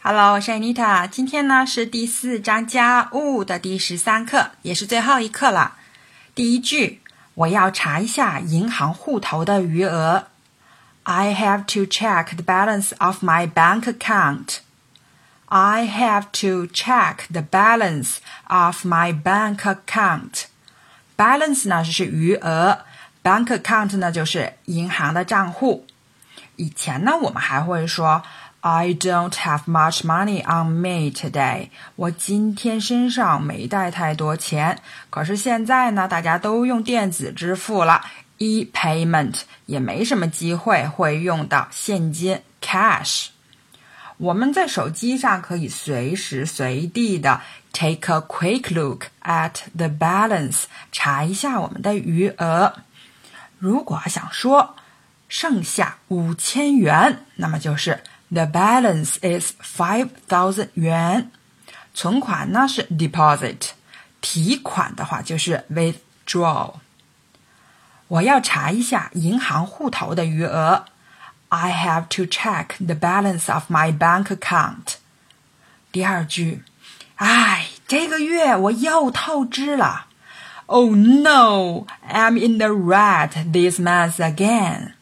Hello， 我是 Anita， 今天呢是第4章家务的第13课，也是最后一课了。第一句，我要查一下银行户头的余额。I have to check the balance of my bank account. I have to check the balance of my bank account. Balance 呢是余额， bank account 呢就是银行的账户。以前呢我们还会说I don't have much money on me today. 我今天身上没带太多钱。可是现在呢，大家都用电子支付了 ，e-payment 也没什么机会会用到现金 cash。我们在手机上可以随时随地的 take a quick look at the balance， 查一下我们的余额。如果想说剩下5000元，那么就是The balance is 5,000 元。存款呢是 deposit， 提款的话就是 withdraw。我要查一下银行户头的余额。I have to check the balance of my bank account。第二句，这个月我又透支了。Oh no, I'm in the red this month again.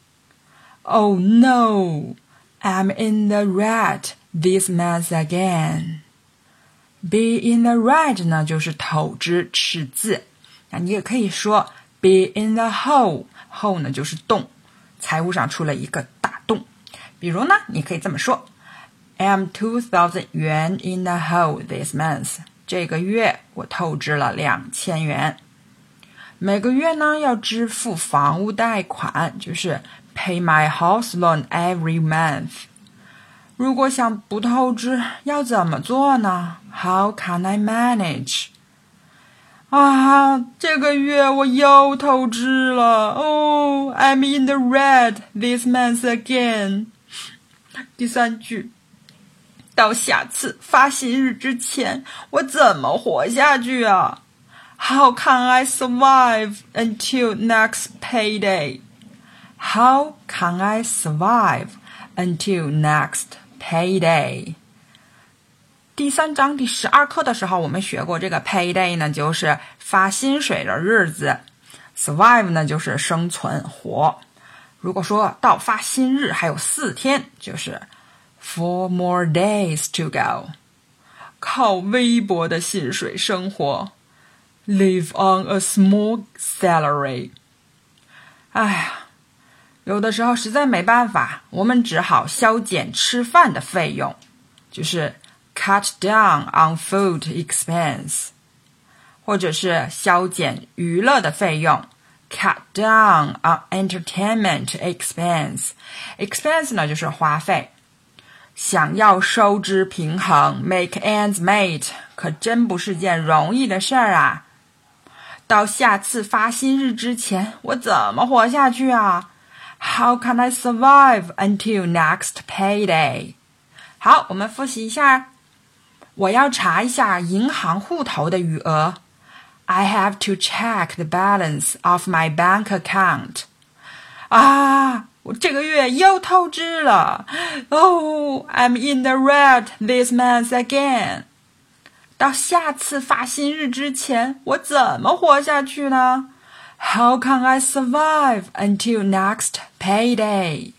Oh no.I'm in the red this month again. Be in the red 呢就是透支赤字，那你也可以说 be in the hole， hole 呢就是洞，财务上出了一个大洞。比如呢，你可以这么说 I'm 2,000 元 in the hole this month. 这个月我透支了2000元。每个月呢要支付房屋贷款，就是Pay my house loan every month. 如果想不透支，要怎么做呢？ How can I manage? 这个月我又透支了。Oh, I'm in the red this month again. 第三句，到下次发薪日之前，我怎么活下去啊？ How can I survive until next payday?How can I survive until next payday? 第3章第12课的时候，我们学过这个 payday 呢，就是发薪水的日子。survive 呢，就是生存活。如果说到发薪日还有4天，就是 4 more days to go。靠微薄的薪水生活。Live on a small salary。有的时候实在没办法，我们只好削减吃饭的费用，就是 cut down on food expense， 或者是削减娱乐的费用 cut down on entertainment expense。 expense 呢就是花费。想要收支平衡 make ends meet 可真不是件容易的事儿啊。到下次发薪日之前，我怎么活下去啊？How can I survive until next payday? 好，我们复习一下。我要查一下银行户头的余额。I have to check the balance of my bank account. 我这个月又透支了。Oh, I'm in the red this month again. 到下次发薪日之前，我怎么活下去呢？How can I survive until next payday?